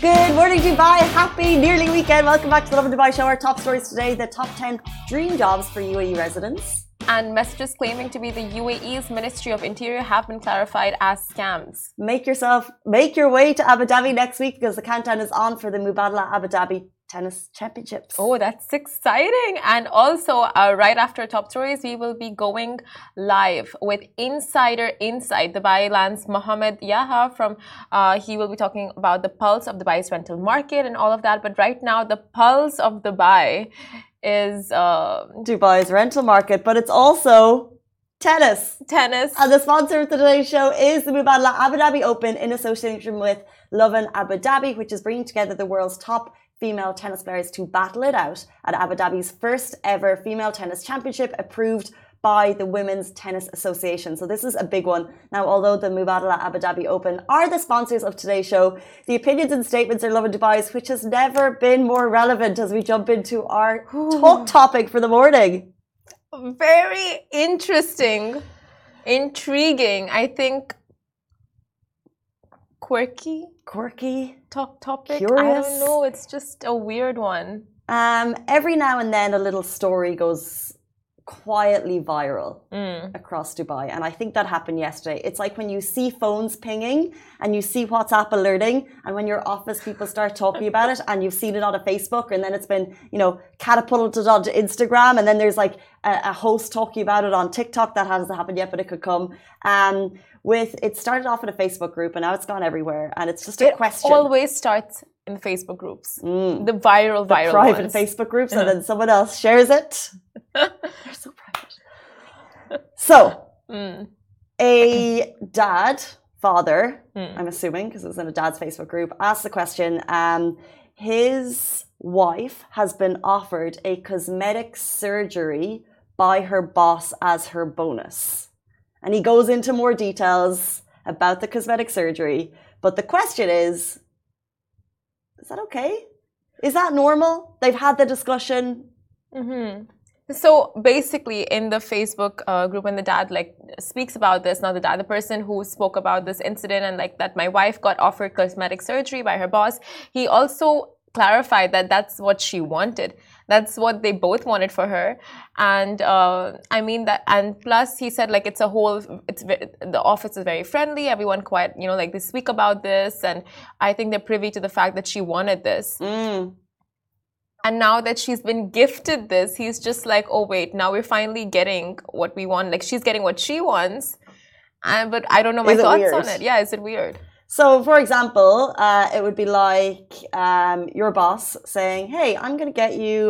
Good morning, Dubai. Happy nearly weekend. Welcome back to the Lovin Dubai show. Our top stories today, the top 10 dream jobs for UAE residents. And messages claiming to be the UAE's Ministry of Interior have been clarified as scams. Make your way to Abu Dhabi next week because the countdown is on for the Mubadala Abu Dhabi Tennis Championships. Oh, that's exciting. And also, right after top stories, we will be going live with Insider Insight. Dubai lands Mohammed Yaha from, he will be talking about the pulse of Dubai's rental market and all of that. But right now, the pulse of Dubai is Dubai's rental market, but it's also tennis. And the sponsor of today's show is the Mubadala Abu Dhabi Open in association with Lovin Abu Dhabi, which is bringing together the world's top female tennis players to battle it out at Abu Dhabi's first ever female tennis championship approved by the Women's Tennis Association. So this is a big one. Now, although the Mubadala Abu Dhabi Open are the sponsors of today's show, the opinions and statements are Lovin Dubai's, which has never been more relevant as we jump into our talk topic for the morning. Very interesting, intriguing, I think quirky talk topic. Curious. I don't know, it's just a weird one. Every now and then a little story goes quietly viral across Dubai, and I think that happened yesterday. It's like when you see phones pinging and you see WhatsApp alerting, and when your office people start talking about it and you've seen it on a Facebook, and then it's been, catapulted onto Instagram, and then there's like a host talking about it on TikTok. That hasn't happened yet, but it could come. It started off in a Facebook group and now it's gone everywhere, and it's just a question. It always starts in the Facebook groups, the viral private ones. Facebook groups, and then someone else shares it. They're so private. So, a father, I'm assuming, because it was in a dad's Facebook group, asked the question, his wife has been offered a cosmetic surgery by her boss as her bonus. And he goes into more details about the cosmetic surgery. But the question is that okay? Is that normal? They've had the discussion. So basically, in the Facebook group, when the dad speaks about this, not the dad, the person who spoke about this incident and that my wife got offered cosmetic surgery by her boss, he also clarified that that's what she wanted. That's what they both wanted for her, and and plus he said the office is very friendly. Everyone quite they speak about this, and I think they're privy to the fact that she wanted this. And now that she's been gifted this, he's just like, oh wait, now we're finally getting what we want. She's getting what she wants, but I don't know my thoughts on it. Yeah, is it weird? So, for example, it would be like your boss saying, hey, I'm going to get you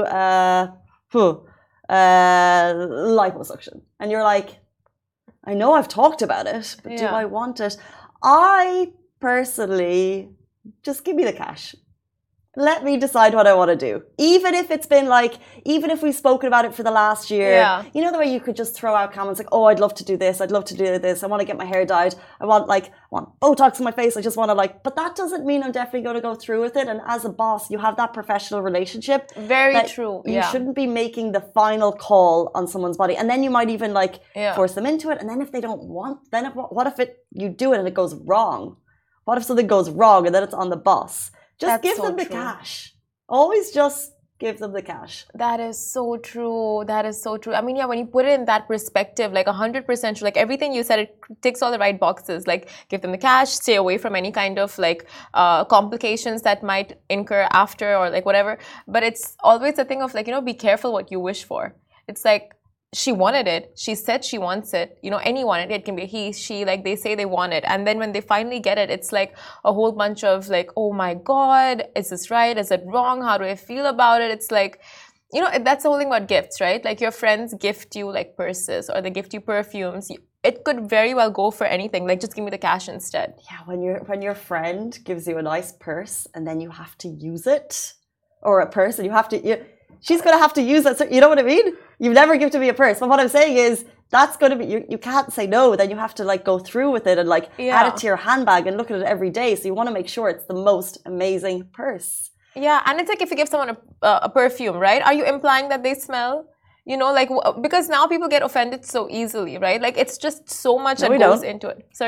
liposuction. And you're like, I know I've talked about it, but do I want it? I personally, just give me the cash. Let me decide what I want to do. Even if it's been even if we've spoken about it for the last year, the way you could just throw out comments like, oh, I'd love to do this. I'd love to do this. I want to get my hair dyed. I want Botox in my face. I just want to but that doesn't mean I'm definitely going to go through with it. And as a boss, you have that professional relationship. Very true. You shouldn't be making the final call on someone's body. And then you might even force them into it. And then if they don't want, then what if you do it and it goes wrong? What if something goes wrong and then it's on the boss? Just give them the cash. Always just give them the cash. That is so true. That is so true. I mean, when you put it in that perspective, 100% true. Everything you said, it ticks all the right boxes. Give them the cash, stay away from any kind of complications that might incur after or whatever. But it's always a thing of be careful what you wish for. It's she wanted it. She said she wants it. Anyone. It can be he, she. They say they want it, and then when they finally get it, it's a whole bunch of oh my God, is this right? Is it wrong? How do I feel about it? It's that's the whole thing about gifts, right? Your friends gift you purses or they gift you perfumes. It could very well go for anything. Just give me the cash instead. Yeah, when your friend gives you a nice purse and then you have to use it, or a purse and you have to. She's going to have to use that. You know what I mean? You've never gifted me a purse. But what I'm saying is that's going to be, you can't say no. Then you have to go through with it and add it to your handbag and look at it every day. So you want to make sure it's the most amazing purse. Yeah. And it's if you give someone a perfume, right? Are you implying that they smell? Because now people get offended so easily, right? It's just so much that goes into it. Sorry?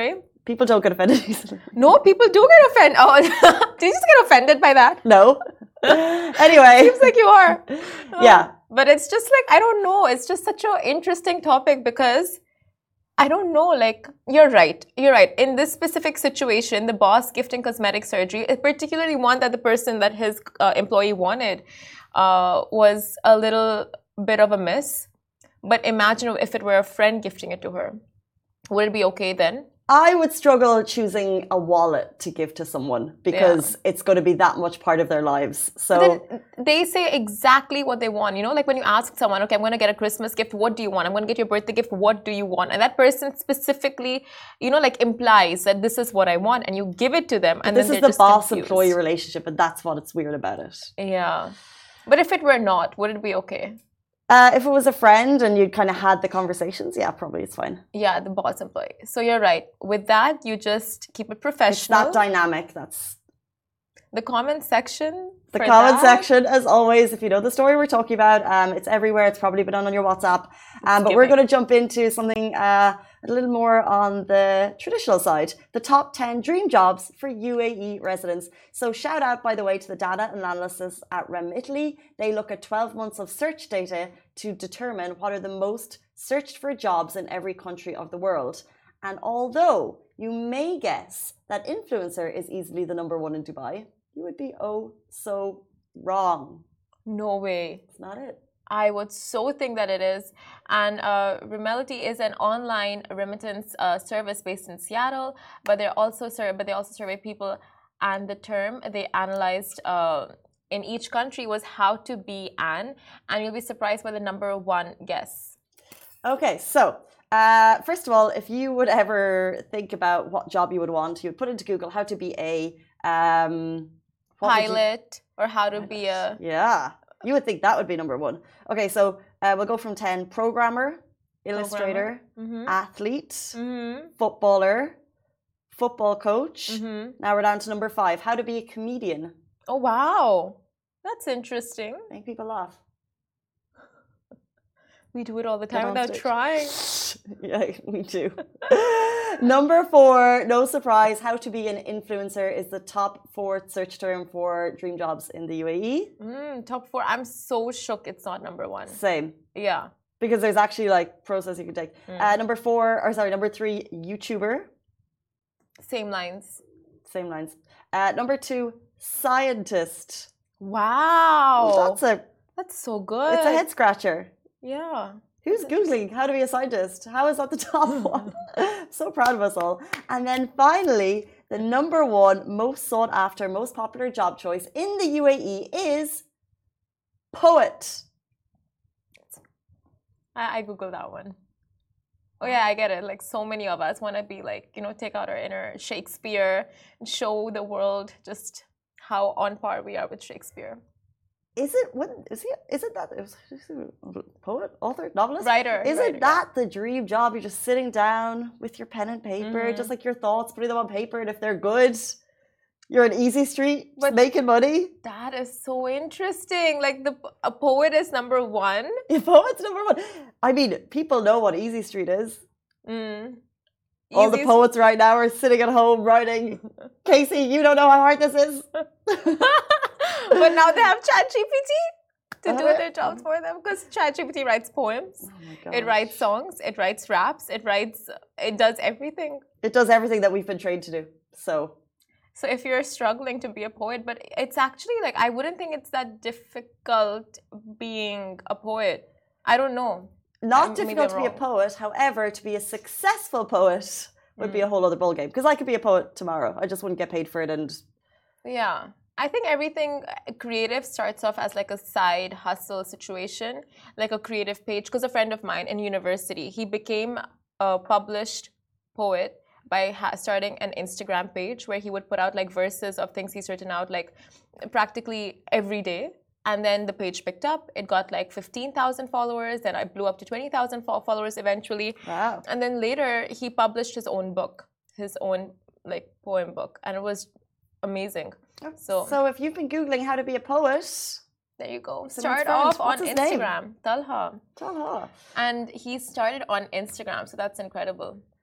People don't get offended easily. No, people do get offended. Oh, did you just get offended by that? No. Anyway. Seems like you are. Yeah. But it's just like, I don't know. It's just such an interesting topic because I don't know, like, you're right. You're right. In this specific situation, the boss gifting cosmetic surgery, particularly one that the person that his employee wanted, was a little bit of a miss. But imagine if it were a friend gifting it to her. Would it be okay then? I would struggle choosing a wallet to give to someone because it's going to be that much part of their lives. So then they say exactly what they want. You know, like when you ask someone, okay, I'm going to get a Christmas gift. What do you want? I'm going to get your birthday gift. What do you want? And that person specifically, you know, like implies that this is what I want, and you give it to them. And this is the boss-employee relationship, and that's what's weird about it. Yeah, but if it were not, would it be okay? If it was a friend and you kind of had the conversations, yeah, probably it's fine. Yeah, the boss employee. So you're right. With that, you just keep it professional. It's that dynamic. That's the comment section. The comment section, as always, if you know the story we're talking about, it's everywhere. It's probably been on your WhatsApp. But we're going to jump into something a little more on the traditional side. The top 10 dream jobs for UAE residents. So shout out, by the way, to the data analysis at Remitly. They look at 12 months of search data to determine what are the most searched for jobs in every country of the world. And although you may guess that influencer is easily the #1 in Dubai, you would be so wrong. No way. It's not it. I would so think that it is. And Remitly is an online remittance service based in Seattle, but they also survey people. And the term they analyzed in each country was how to be an, and you'll be surprised by the #1 guess. Okay, so first of all, if you would ever think about what job you would want, you would put into Google how to be a pilot or how to be a... Yeah, you would think that would be #1. Okay, so we'll go from 10. Programmer, illustrator, athlete, footballer, football coach. Now we're down to #5. How to be a comedian. Oh, wow. That's interesting. Make people laugh. We do it all the time without trying. Yeah, we do. #4, no surprise, how to be an influencer is the top 4th search term for dream jobs in the UAE. Top 4. I'm so shook it's not #1. Same. Yeah. Because there's actually like process you can take. #3, YouTuber. Same lines. Same lines. #2, scientist. Wow. That's so good. It's a head scratcher. Yeah. Who's Googling how to be a scientist? How is that the top one? So proud of us all. And then finally, the #1 most sought after, most popular job choice in the UAE is poet. I Googled that one. Oh yeah, I get it. Like so many of us want to be like, you know, take out our inner Shakespeare and show the world just how on par we are with Shakespeare. Is it that poet, author, novelist, writer? Isn't that the dream job? You're just sitting down with your pen and paper, just like your thoughts, putting them on paper, and if they're good, you're on easy street, but making money. That is so interesting. Like a poet is #1. Yeah, poet's #1. I mean, people know what easy street is. All the poets right now are sitting at home writing. Casey, you don't know how hard this is. But now they have ChatGPT to do their jobs for them because ChatGPT writes poems. It writes songs. It writes raps. It does everything. It does everything that we've been trained to do. So if you're struggling to be a poet, but it's actually like, I wouldn't think it's that difficult being a poet. I don't know. Not difficult to be a poet. However, to be a successful poet would be a whole other ballgame. Because I could be a poet tomorrow. I just wouldn't get paid for it. And yeah. I think everything creative starts off as like a side hustle situation, like a creative page. Because a friend of mine in university, he became a published poet by starting an Instagram page where he would put out like verses of things he's written out like practically every day. And then the page picked up. It got like 15,000 followers. Then I blew up to 20,000 followers eventually. Wow. And then later he published his own book, his own like poem book. And it was amazing. So if you've been Googling how to be a poet, there you go. Start off on Instagram. Talha. Talha. And he started on Instagram, so that's incredible.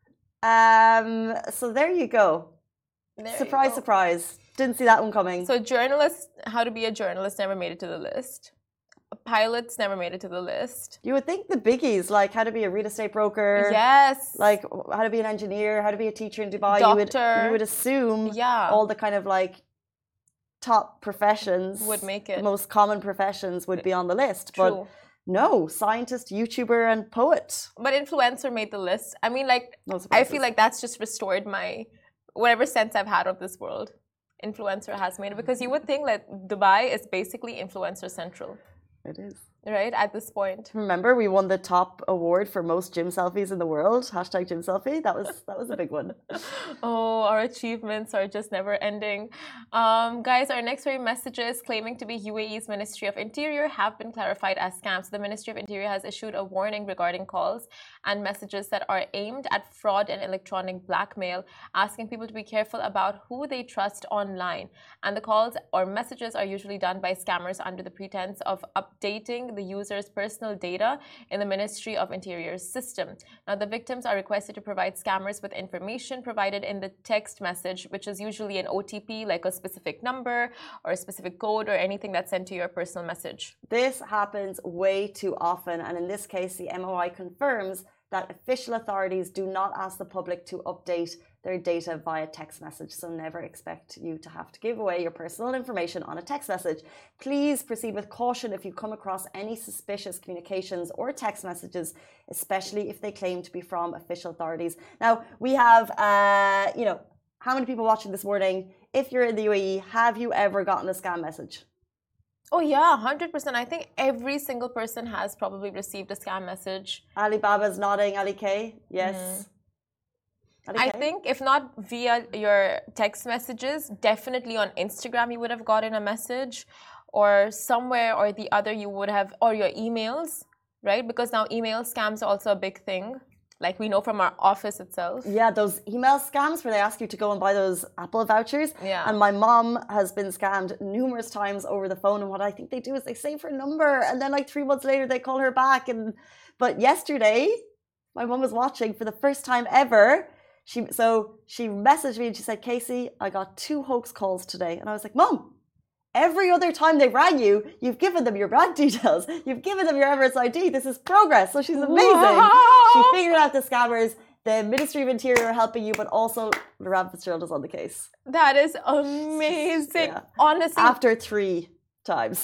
So there you go. Surprise, surprise. Didn't see that one coming. So how to be a journalist never made it to the list. Pilots never made it to the list. You would think the biggies, like how to be a real estate broker. Yes. Like how to be an engineer, how to be a teacher in Dubai. Doctor. You would assume all the kind of like top professions would make it. The most common professions would be on the list. True. But no, scientist, YouTuber, and poet. But influencer made the list. I mean, like, I feel like that's just restored my whatever sense I've had of this world. Influencer has made it, because you would think that Dubai is basically influencer central. It is. Right, at this point. Remember, we won the top award for most gym selfies in the world. # gym selfie. That was a big one. Oh, our achievements are just never ending. Guys, our next few messages claiming to be UAE's Ministry of Interior have been clarified as scams. The Ministry of Interior has issued a warning regarding calls and messages that are aimed at fraud and electronic blackmail, asking people to be careful about who they trust online. And the calls or messages are usually done by scammers under the pretense of updating the user's personal data in the Ministry of Interior's system. Now, the victims are requested to provide scammers with information provided in the text message, which is usually an OTP, like a specific number or a specific code or anything that's sent to your personal message. This happens way too often, and in this case, the MOI confirms that official authorities do not ask the public to update their data via text message, so never expect you to have to give away your personal information on a text message. Please proceed with caution if you come across any suspicious communications or text messages, especially if they claim to be from official authorities. Now, we have, how many people watching this morning? If you're in the UAE, have you ever gotten a scam message? Oh yeah, 100%. I think every single person has probably received a scam message. Alibaba's nodding, Ali K. Yes. I think if not via your text messages, definitely on Instagram you would have gotten a message, or somewhere or the other you would have, or your emails, right? Because now email scams are also a big thing. Like we know from our office itself. Yeah, those email scams where they ask you to go and buy those Apple vouchers. Yeah. And my mom has been scammed numerous times over the phone. And what I think they do is they save her number, and then like 3 months later they call her back. But yesterday, my mom was watching for the first time ever. She messaged me and she said, Casey, I got 2 hoax calls today. And I was like, Mom, every other time they rang you, you've given them your bank details. You've given them your Emirates ID. This is progress. So she's amazing. Wow. She figured out the scammers, the Ministry of Interior are helping you, but also Laurent Fitzgerald is on the case. That is amazing. Yeah. Honestly. After 3 times.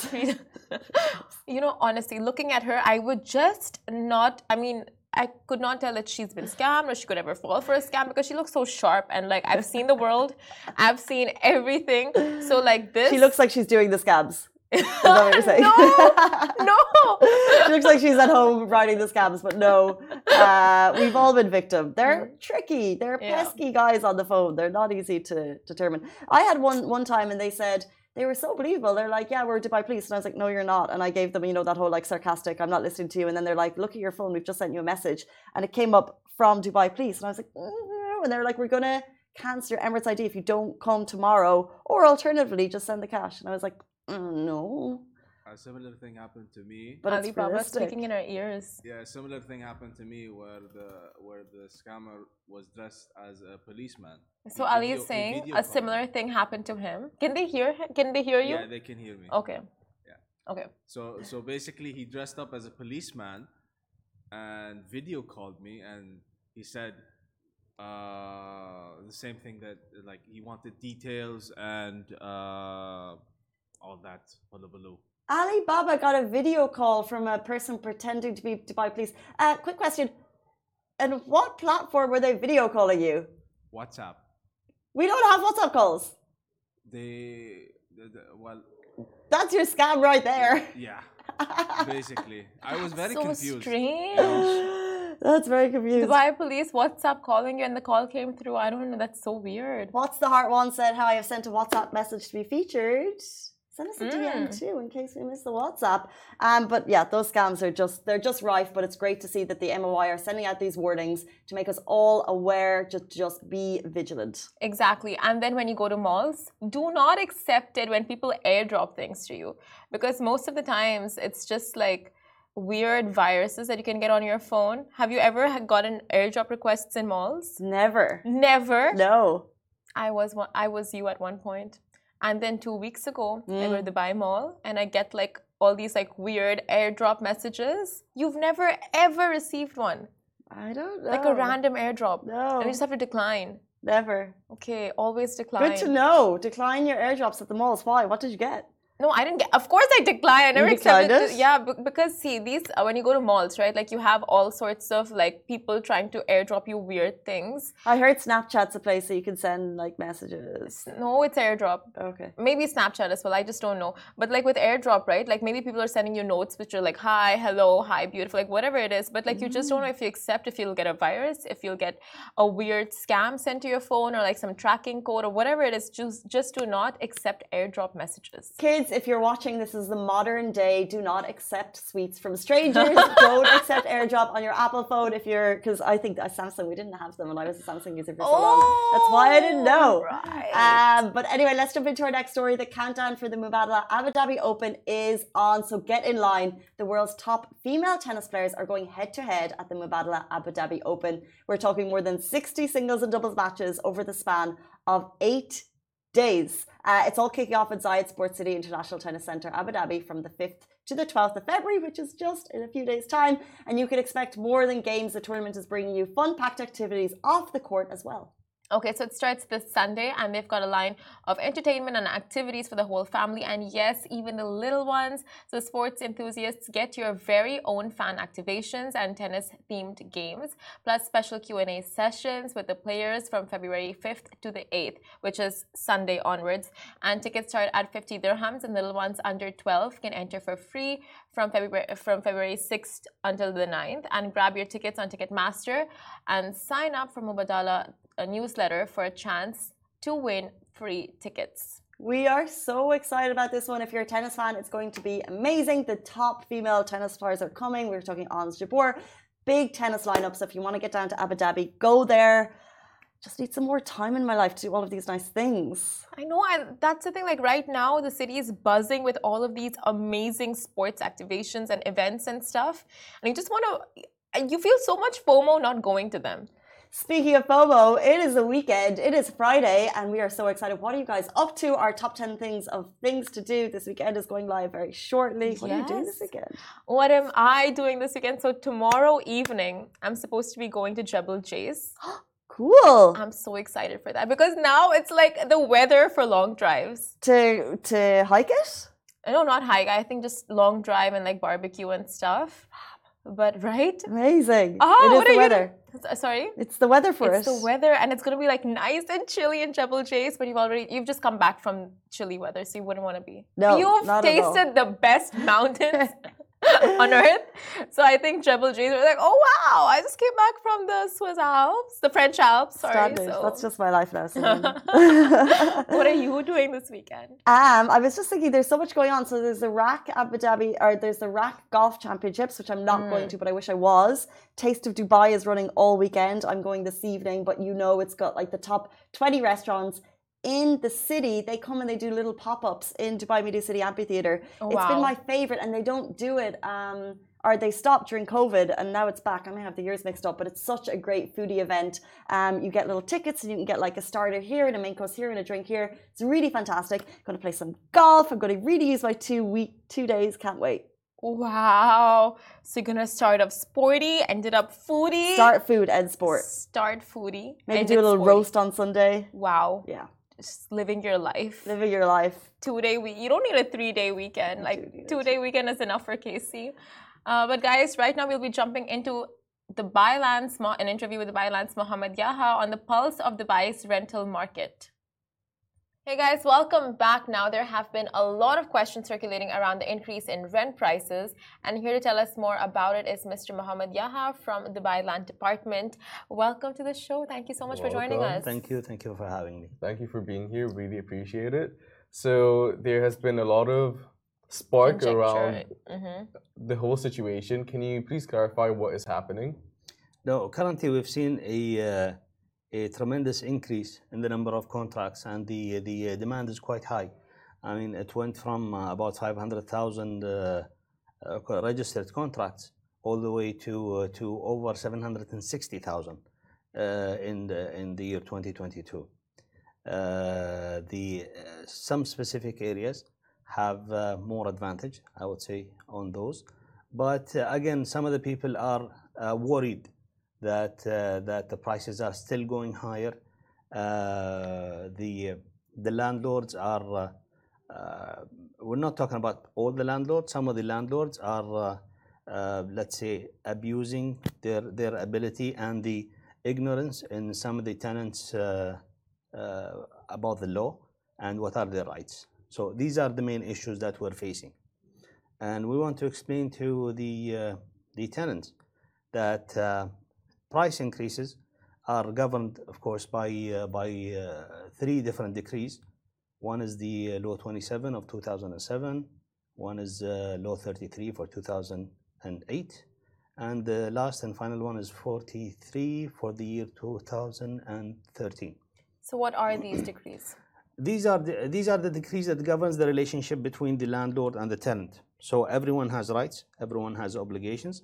Honestly, looking at her, I would just not, I could not tell that she's been scammed or she could ever fall for a scam, because she looks so sharp, and like I've seen the world, I've seen everything. So like this, she looks like she's doing the scams. Is that what you're saying? No. She looks like she's at home writing the scams, but no. We've all been victim. They're tricky. They're pesky guys on the phone. They're not easy to determine. I had one time, and they said. They were so believable. They're like, yeah, we're Dubai Police. And I was like, no, you're not. And I gave them, that whole like sarcastic, I'm not listening to you. And then they're like, look at your phone. We've just sent you a message. And it came up from Dubai Police. And I was like, and they were like, we're going to cancel your Emirates ID if you don't come tomorrow. Or alternatively, just send the cash. And I was like, no. A similar thing happened to me. But Alibaba speaking in our ears. Yeah, a similar thing happened to me where the scammer was dressed as a policeman. So Ali is saying a similar thing happened to him. Can they hear him? Can they hear you? Yeah, they can hear me. Okay. Yeah. Okay. So basically he dressed up as a policeman and video called me, and he said the same thing, that like he wanted details and all that hullabaloo. Alibaba got a video call from a person pretending to be Dubai Police. Quick question. And what platform were they video calling you? WhatsApp. We don't have WhatsApp calls. Well. That's your scam right there. Yeah. Basically. I was very confused. So strange. That's very confusing. Dubai Police WhatsApp calling you and the call came through. I don't know. That's so weird. What's the Heart One said, how I have sent a WhatsApp message to be featured. Send us a DM too in case we miss the WhatsApp. But yeah, those scams they're just rife, but it's great to see that the MOI are sending out these warnings to make us all aware, just be vigilant. Exactly. And then when you go to malls, do not accept it when people airdrop things to you, because most of the times it's just like weird viruses that you can get on your phone? Have you ever gotten airdrop requests in malls? Never. Never? No. I was you at one point. And then 2 weeks ago, I go to the Dubai Mall and I get like all these like weird airdrop messages. You've never ever received one? I don't know. Like a random airdrop. No. And you just have to decline. Never. Okay, always decline. Good to know. Decline your airdrops at the malls. Why? What did you get? No, I didn't get. Of course, I declined. I never accepted it. Yeah, because see, these when you go to malls, right? Like you have all sorts of like people trying to airdrop you weird things. I heard Snapchat's a place that you can send like messages. No, it's airdrop. Okay. Maybe Snapchat as well. I just don't know. But like with airdrop, right? Like maybe people are sending you notes which are like hi, hello, hi, beautiful, like whatever it is. But like you just don't know if you accept, if you'll get a virus, if you'll get a weird scam sent to your phone or like some tracking code or whatever it is. Just do not accept airdrop messages. Kids, if you're watching this is the modern day. Do not accept sweets from strangers. Don't accept airdrop on your Apple phone if you're, because I think Samsung, we didn't have them when I was a Samsung user for so long. That's why I didn't know. Right. But anyway, let's jump into our next story. The countdown for the Mubadala Abu Dhabi Open is on, so get in line. The world's top female tennis players are going head to head at the Mubadala Abu Dhabi Open. We're talking more than 60 singles and doubles matches over the span of 8 days. It's all kicking off at Zayed Sports City International Tennis Centre, Abu Dhabi, from the 5th to the 12th of February, which is just in a few days' time. And you can expect more than games. The tournament is bringing you fun-packed activities off the court as well. Okay, so it starts this Sunday and they've got a line of entertainment and activities for the whole family, and yes, even the little ones. So sports enthusiasts, get your very own fan activations and tennis-themed games, plus special Q&A sessions with the players from February 5th to the 8th, which is Sunday onwards. And tickets start at 50 dirhams, and little ones under 12 can enter for free from February 6th until the 9th. And grab your tickets on Ticketmaster and sign up for Mubadala a newsletter for a chance to win free tickets. We are so excited about this one. If you're a tennis fan, it's going to be amazing. The top female tennis stars are coming. We're talking Ons Jabeur. Big tennis lineup. So if you want to get down to Abu Dhabi, go there. Just need some more time in my life to do all of these nice things. I know, and that's the thing. Like right now, the city is buzzing with all of these amazing sports activations and events and stuff. And you just want to, you feel so much FOMO not going to them. Speaking of FOMO, it is the weekend. It is Friday, and we are so excited. What are you guys up to? Our top 10 things to do this weekend is going live very shortly. What are you doing this weekend? What am I doing this weekend? So tomorrow evening, I'm supposed to be going to Jebel Jais. Cool. I'm so excited for that because now it's like the weather for long drives. To hike it? No, not hike. I think just long drive and like barbecue and stuff. But right? Amazing. Oh, it is the weather. Sorry? It's the weather for It's the weather, and it's going to be like nice and chilly in Jebel Jais, but you've just come back from chilly weather, so you wouldn't want to be. No, You've not tasted the best mountains on earth. So I think Jebel Jais were like, oh wow, I just came back from the Swiss Alps, the French Alps, sorry. Standard. So. That's just my life now. So. What are you doing this weekend? I was just thinking there's so much going on. So there's the RAC Abu Dhabi, or there's the RAC Golf Championships, which I'm not going to, but I wish I was. Taste of Dubai is running all weekend. I'm going this evening, but you know it's got like the top 20 restaurants in the city. They come and they do little pop-ups in Dubai Media City Amphitheatre. Oh, it's been my favorite, and they don't do it or they stopped during COVID and now it's back. I may have the years mixed up, but it's such a great foodie event. You get little tickets and you can get like a starter here and a main course here and a drink here. It's really fantastic. I'm going to play some golf. I'm going to really use my 2 days. Can't wait. Wow. So you're going to start off sporty, ended up foodie. Start food and sport. Start foodie. Maybe do a little roast on Sunday. Wow. Yeah. Just living your life. Living your life. 2-day week. You don't need a 3-day weekend. Like 2-day weekend is enough for Casey. But guys, right now we'll be jumping into an interview with the Dubailand's Mohammed Yaha on the pulse of Dubai's rental market. Hey guys, welcome back. Now there have been a lot of questions circulating around the increase in rent prices, and here to tell us more about it is Mr. Mohammed Yaha from the Dubai Land Department. Welcome to the show. Thank you so much for joining us. Thank you for having me. Thank you for being here. Really appreciate it. So there has been a lot of spark around the whole situation. Can you please clarify what is happening? No, currently we've seen a tremendous increase in the number of contracts, and the demand is quite high. I mean, it went from about 500,000 registered contracts all the way to over 760,000 in the year 2022. Some specific areas have more advantage, I would say, on those. But again, some of the people are worried that the prices are still going higher. The landlords are. We're not talking about all the landlords. Some of the landlords are, let's say, abusing their ability and the ignorance in some of the tenants about the law and what are their rights. So these are the main issues that we're facing, and we want to explain to the tenants that price increases are governed, of course, by 3 different decrees. One is the Law 27 of 2007, one is Law 33 for 2008, and the last and final one is 43 for the year 2013. So what are these decrees? These are the decrees that governs the relationship between the landlord and the tenant. So everyone has rights, everyone has obligations.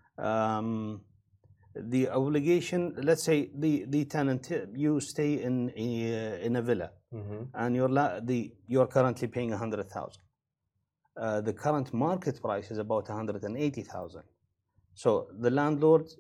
The obligation, let's say the tenant, you stay in a villa, and you're currently paying 100,000. The current market price is about 180,000. So the landlord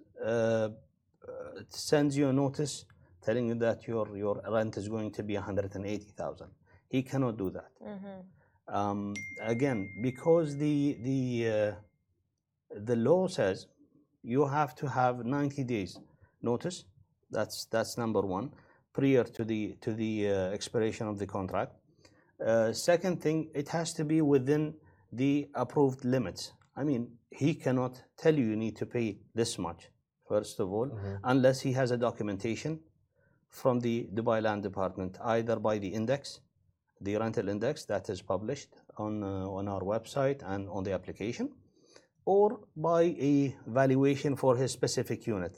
sends you a notice telling you that your rent is going to be 180,000. He cannot do that. Again, because the law says you have to have 90 days notice. That's number one, prior to the expiration of the contract. Second thing, it has to be within the approved limits. I mean, he cannot tell you need to pay this much, first of all, unless he has a documentation from the Dubai Land Department, either by the index, the rental index that is published on our website and on the application, or by a valuation for his specific unit.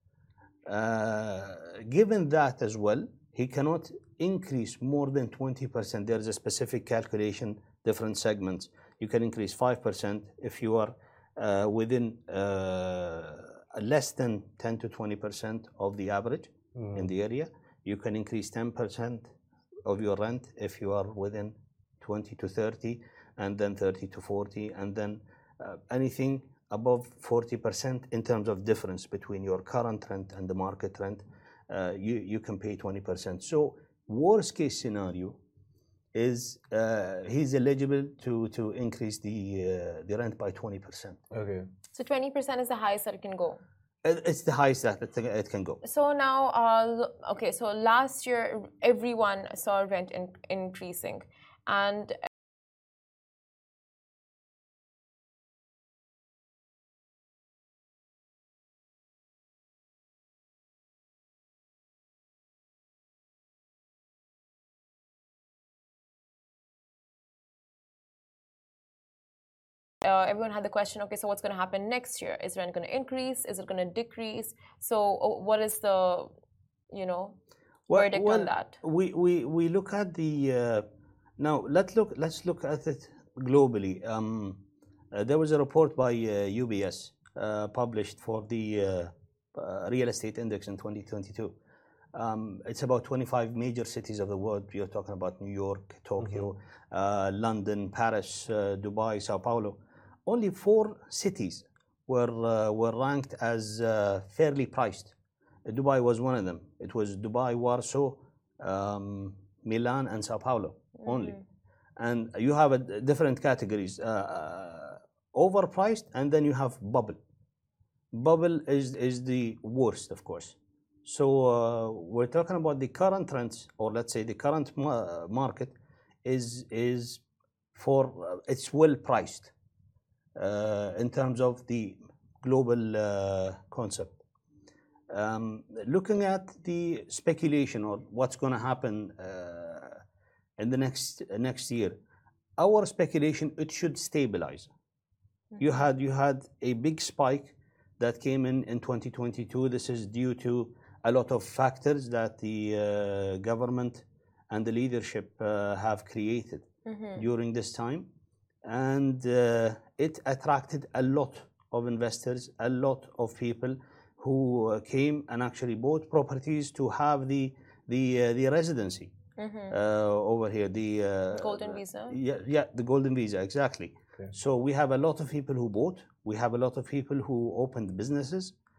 Given that as well, he cannot increase more than 20%. There is a specific calculation, different segments. You can increase 5% if you are within less than 10 to 20% of the average in the area. You can increase 10% of your rent if you are within 20 to 30, and then 30 to 40, and then anything above 40% in terms of difference between your current rent and the market rent, you can pay 20%. So worst case scenario is he's eligible to increase the rent by 20%. Okay. So 20% is the highest that it can go. It's the highest that it can go. So now, okay, so last year everyone saw rent increasing, and everyone had the question, okay, so what's going to happen next year? Is rent going to increase? Is it going to decrease? So what is the, verdict on that? We look at the, now let's look at it globally. There was a report by UBS published for the real estate index in 2022. It's about 25 major cities of the world. You're talking about New York, Tokyo, London, Paris, Dubai, Sao Paulo. Only 4 cities were ranked as fairly priced. Dubai was one of them. It was Dubai, Warsaw, Milan, and Sao Paulo only. And you have different categories: overpriced, and then you have bubble. Bubble is the worst, of course. So we're talking about the current trends, or let's say the current market is for it's well priced in terms of the global concept. Looking at the speculation or what's going to happen in the next year, our speculation, it should stabilize. You had a big spike that came in 2022. This is due to a lot of factors that the government and the leadership have created during this time. and it attracted a lot of investors, a lot of people who came and actually bought properties to have the residency over here. The golden visa. Yeah, the golden visa, exactly. Okay. So we have a lot of people who bought. We have a lot of people who opened businesses.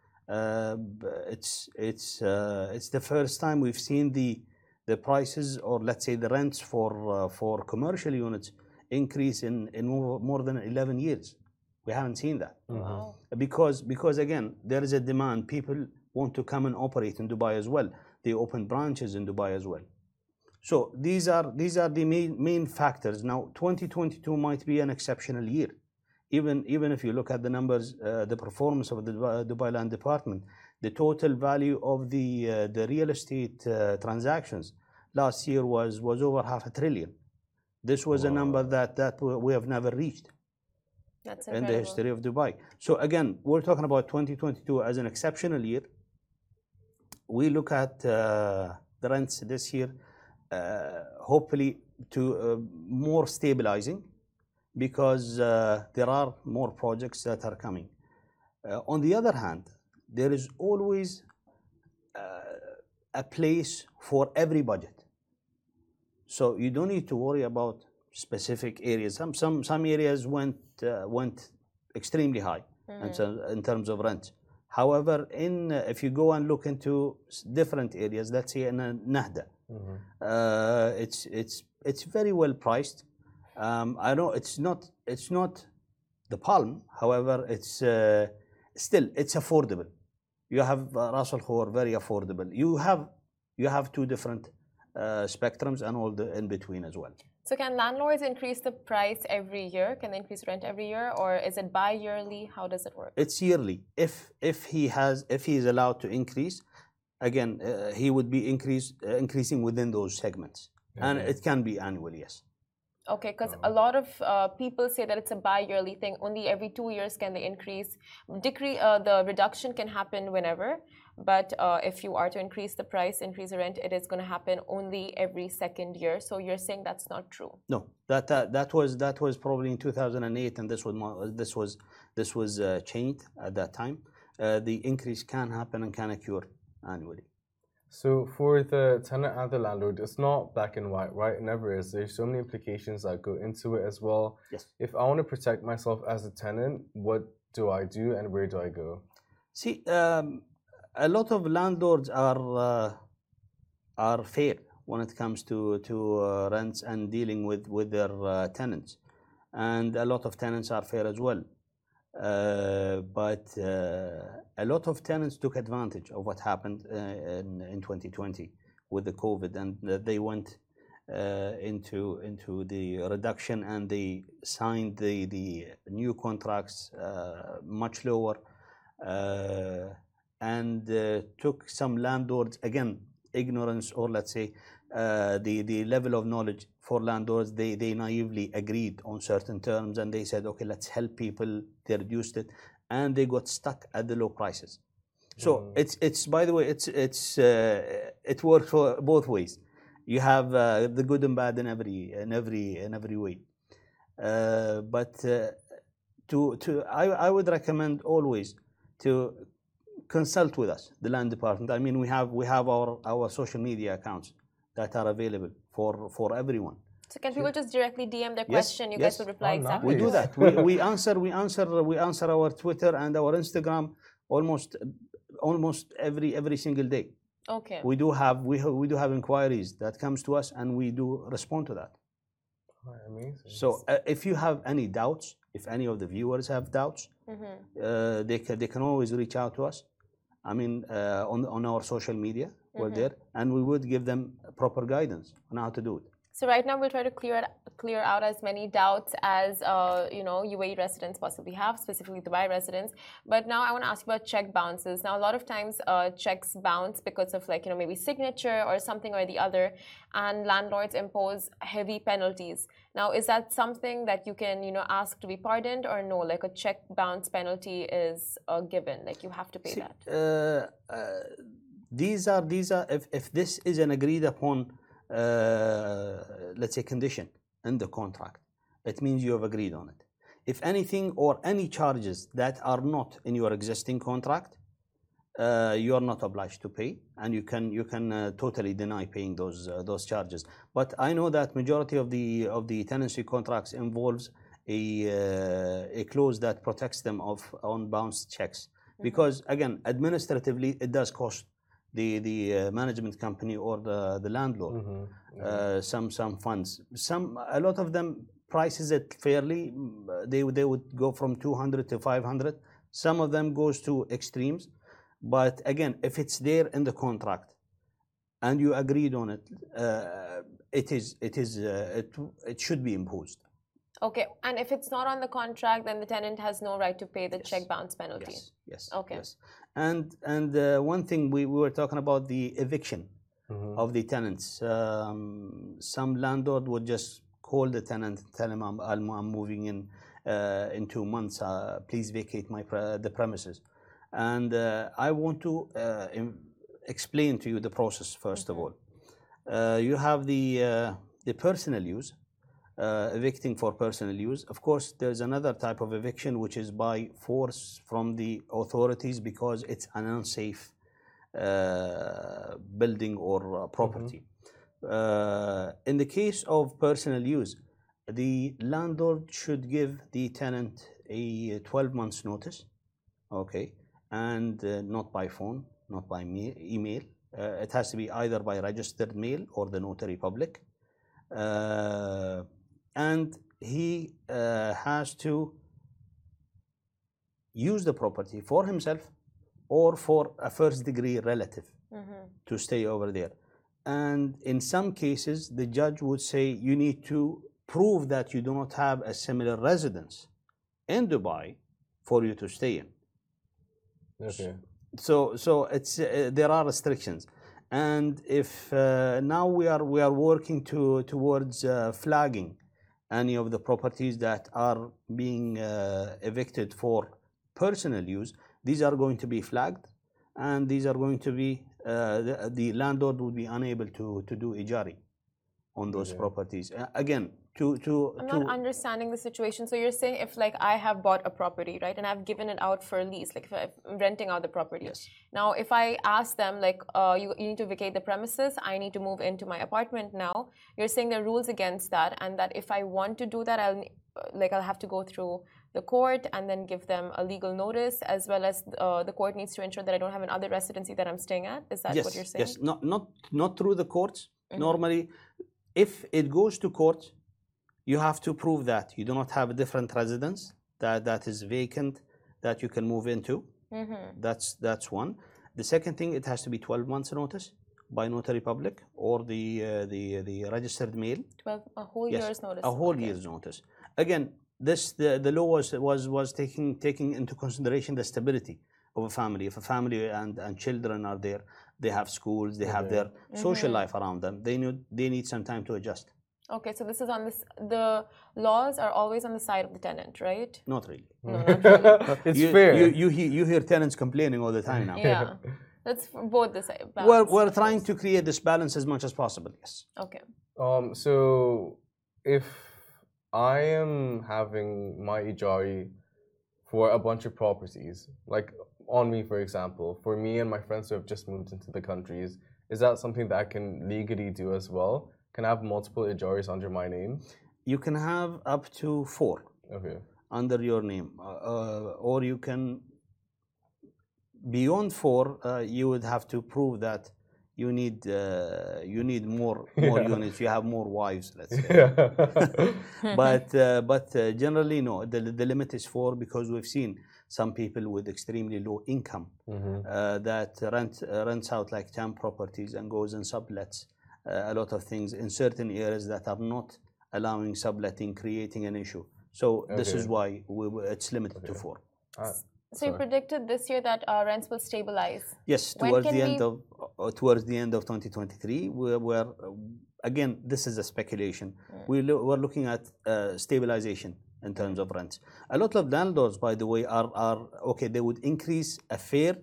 It's the first time we've seen the prices, or let's say the rents for commercial units increase in more than 11 years. We haven't seen that. Wow. Because again, there is a demand. People want to come and operate in Dubai as well. They open branches in Dubai as well. So these are the main factors. Now 2022 might be an exceptional year. Even if you look at the numbers, the performance of the Dubai Land Department, the total value of the real estate transactions last year was over $500 billion. This was a number that we have never reached. That's in the history of Dubai. So again, we're talking about 2022 as an exceptional year. We look at the rents this year, hopefully to more stabilizing, because there are more projects that are coming. On the other hand, there is always a place for every budget. So you don't need to worry about specific areas. Some areas went extremely high in terms of rent. However, if you go and look into different areas, let's say in Nahda, it's very well priced. I know it's not the palm. However, it's still affordable. You have Ras Al Khor, very affordable. You have two different spectrums and all the in between as well. So can landlords increase the price every year? Can they increase rent every year, or is it bi-yearly? How does it work? It's yearly. If he is allowed to increase, again he would be increasing within those segments, and it can be annually, yes. Okay, because a lot of people say that it's a bi-yearly thing. Only every 2 years can they increase. The reduction can happen whenever, but if you are to increase the price, increase the rent, it is going to happen only every second year. So you're saying that's not true? No, that was probably in 2008, and this was changed at that time. The increase can happen and can occur annually. So for the tenant and the landlord, it's not black and white, right? It never is. There's so many implications that go into it as well. Yes. If I want to protect myself as a tenant, what do I do and where do I go? See, a lot of landlords are fair when it comes to rents and dealing with their tenants, and a lot of tenants are fair as well. But a lot of tenants took advantage of what happened in 2020 with the COVID, and they went into the reduction, and they signed the new contracts much lower, and took some landlords, again, ignorance, or let's say the level of knowledge for landlords, they naively agreed on certain terms, and they said, okay, let's help people. They reduced it, and they got stuck at the low prices. So it's by the way, it works for both ways. You have the good and bad in every way. But I would recommend always to consult with us, the land department. I mean, we have our social media accounts that are available for everyone. So can people just directly DM their question? You guys will reply exactly. We do that. we answer our Twitter and our Instagram almost every single day. Okay. We do have inquiries that comes to us, and we do respond to that. Amazing. So if you have any doubts, if any of the viewers have doubts, they can always reach out to us. I mean, on our social media, we're there, and we would give them proper guidance on how to do it. So right now we'll try to clear out as many doubts as UAE residents possibly have, specifically Dubai residents. But now I want to ask you about check bounces. Now a lot of times checks bounce because of maybe signature or something or the other, and landlords impose heavy penalties. Now is that something that you can ask to be pardoned, or no? Like a check bounce penalty is a given, like you have to pay that. These are if this is an agreed upon let's say condition in the contract, it means you have agreed on it. If anything or any charges that are not in your existing contract, you are not obliged to pay, and you can totally deny paying those charges. But I know that majority of the tenancy contracts involves a clause that protects them on bounce checks, because again, administratively it does cost the management company or the landlord some funds. A lot of them prices it fairly. They would go from 200 to 500. Some of them goes to extremes. But again, if it's there in the contract and you agreed on it, it should be imposed. Okay, and if it's not on the contract, then the tenant has no right to pay the check bounce penalty. Yes. Okay. Yes. And one thing we were talking about the eviction of the tenants. Some landlord would just call the tenant, tell him I'm moving in 2 months. Please vacate the premises. And I want to explain to you the process first of all. You have the personal use, evicting for personal use. Of course, there's another type of eviction which is by force from the authorities because it's an unsafe building or property. In the case of personal use, the landlord should give the tenant a 12 months notice, okay, and not by phone, not by email. It has to be either by registered mail or the notary public. And he has to use the property for himself or for a first degree relative to stay over there. And in some cases, the judge would say you need to prove that you do not have a similar residence in Dubai for you to stay in. Okay. So it's there are restrictions, and if now we are working towards flagging any of the properties that are being evicted for personal use. These are going to be flagged, and these are going to be the landlord will be unable to do ijari on those properties. Again, I'm not understanding the situation. So you're saying if like I have bought a property, right, and I've given it out for lease, like if I'm renting out the property. Yes. Now, if I ask them like you need to vacate the premises, I need to move into my apartment now. You're saying there are rules against that, and that if I want to do that, I'll have to go through the court and then give them a legal notice, as well as the court needs to ensure that I don't have another residency that I'm staying at. Is that what you're saying? Yes. Not through the courts. Normally, if it goes to court, you have to prove that you do not have a different residence that is vacant that you can move into. That's one. The second thing, it has to be 12 months notice by notary public or the registered mail. A whole year's notice. A whole year's notice. Again, the law was taking into consideration the stability of a family. If a family and children are there, they have schools, they have their social life around them. They need some time to adjust. Okay, so this is on this. The laws are always on the side of the tenant, right? Not really. No, not really. It's fair. You hear tenants complaining all the time now. Yeah, that's both the side. We're trying to create this balance as much as possible. Yes. Okay. So if I am having my ijari for a bunch of properties, like on me, for example, for me and my friends who have just moved into the countries, is that something that I can legally do as well? Can I have multiple ijaris under my name? You can have up to 4 under your name, or you can beyond 4. You would have to prove that you need more units. You have more wives, let's say. But generally, no. The limit is 4 because we've seen some people with extremely low income that rents out like 10 properties and goes and sublets a lot of things in certain areas that are not allowing subletting, creating an issue. So this is why it's limited to 4. So you predicted this year that rents will stabilize. Yes, towards the end of 2023. We're again, this is a speculation. We're looking at stabilization in terms of rents. A lot of landlords, by the way, are okay. They would increase a fair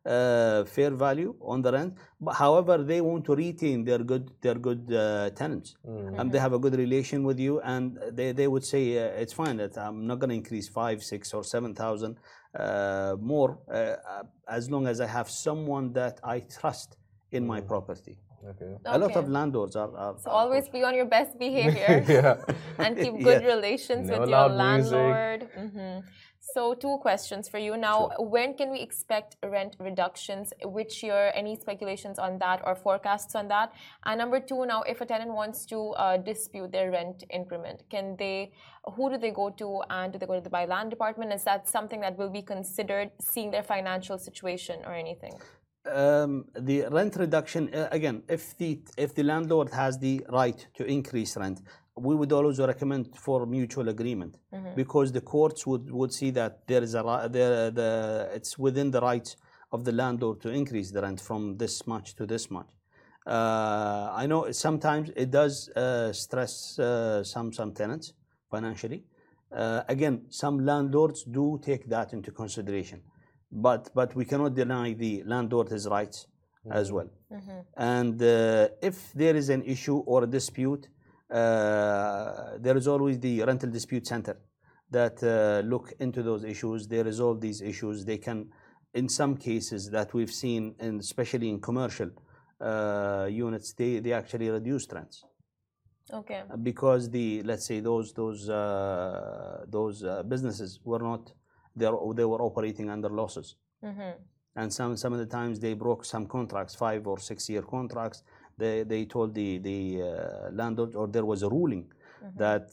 fair value on the rent. But however, they want to retain their good tenants. They have a good relation with you, and they would say it's fine that I'm not going to increase 5, 6, or 7,000 more as long as I have someone that I trust in my property. A lot of landlords are so always be on your best behavior and keep good relations with your landlord. So 2 questions for you now. When can we expect rent reductions? Which year? Any speculations on that or forecasts on that? And number 2, now if a tenant wants to dispute their rent increment, who do they go to, and do they go to the Dubai Land Department? Is that something that will be considered, seeing their financial situation or anything? The rent reduction, again, if the landlord has the right to increase rent, we would always recommend for mutual agreement, because the courts would see that there is it's within the rights of the landlord to increase the rent from this much to this much. I know sometimes it does stress some tenants financially. Again, some landlords do take that into consideration. But we cannot deny the landlord his rights as well. And if there is an issue or a dispute, there is always the rental dispute center that look into those issues. They resolve these issues. They can, in some cases that we've seen, and especially in commercial units, they actually reduce rents. Okay. Because let's say those businesses were not. They were operating under losses, and some of the times they broke some contracts, 5 or 6 year contracts. They told the landlord, or there was a ruling that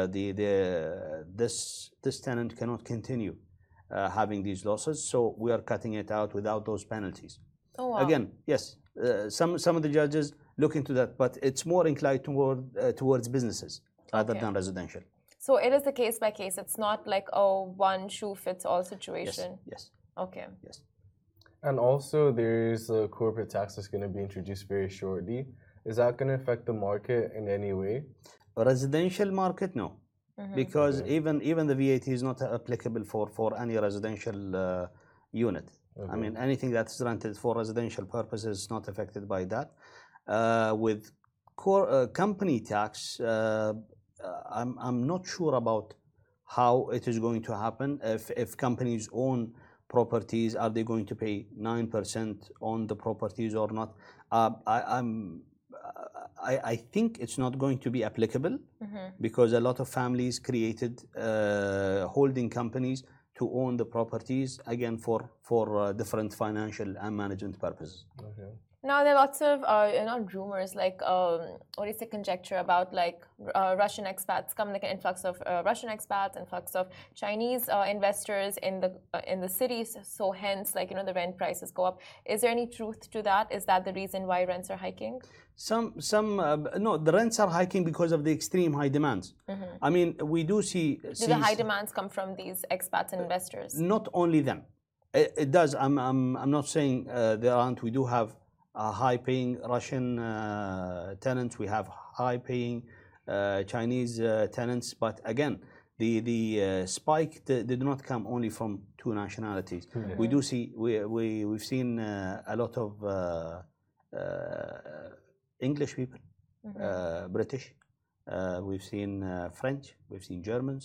this tenant cannot continue having these losses, so we are cutting it out without those penalties. Oh, wow. Again, yes, some of the judges look into that, but it's more inclined towards businesses rather than residential. So it is a case by case. It's not like a one shoe fits all situation. Yes. Okay. Yes. And also, there's a corporate tax that's going to be introduced very shortly. Is that going to affect the market in any way? Residential market, no, because even the VAT is not applicable for any residential unit. I mean, anything that's rented for residential purposes is not affected by that. With company tax. I'm not sure about how it is going to happen. If companies own properties, are they going to pay 9% on the properties or not? I think it's not going to be applicable, because a lot of families created holding companies to own the properties, again for different financial and management purposes. Now there are lots of not rumors, like what is the conjecture about, like Russian expats come, like an influx of Russian expats, influx of Chinese investors in the cities. So hence, like the rent prices go up. Is there any truth to that? Is that the reason why rents are hiking? No, the rents are hiking because of the extreme high demands. I mean, we do see. Do the high demands come from these expats and investors? Not only them. It does. I'm not saying there aren't. We do have high-paying Russian tenants. We have high-paying Chinese tenants. But again, the spike did not come only from 2 nationalities. We do see. We've seen a lot of English people, British. We've seen French. We've seen Germans.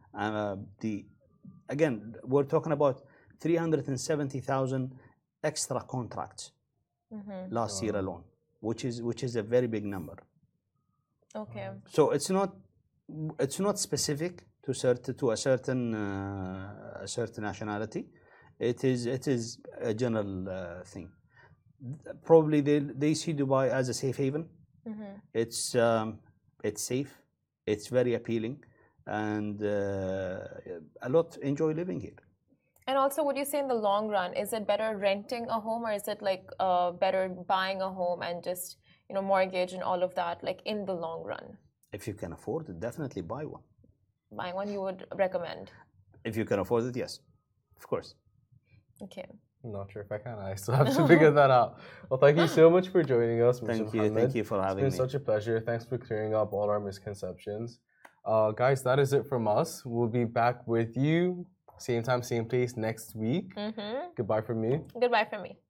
Again, we're talking about 370,000 extra contracts. Last year alone, which is a very big number. Okay. So it's not specific to a certain nationality. It is a general thing. Probably they see Dubai as a safe haven. It's safe. It's very appealing, and a lot enjoy living here. And also, would you say in the long run, is it better renting a home, or is it like better buying a home and just mortgage and all of that, like in the long run? If you can afford it, definitely buy one. Buying one you would recommend? If you can afford it, yes, of course. Okay. I'm not sure if I can. I still have to figure that out. Well, thank you so much for joining us. Thank you for having me. It's been such a pleasure. Thanks for clearing up all our misconceptions. Guys, that is it from us. We'll be back with you Same time, same place next week. Goodbye from me. Goodbye from me.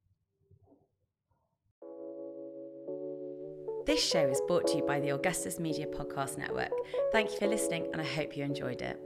This show is brought to you by the Augustus Media Podcast Network. Thank you for listening, and I hope you enjoyed it.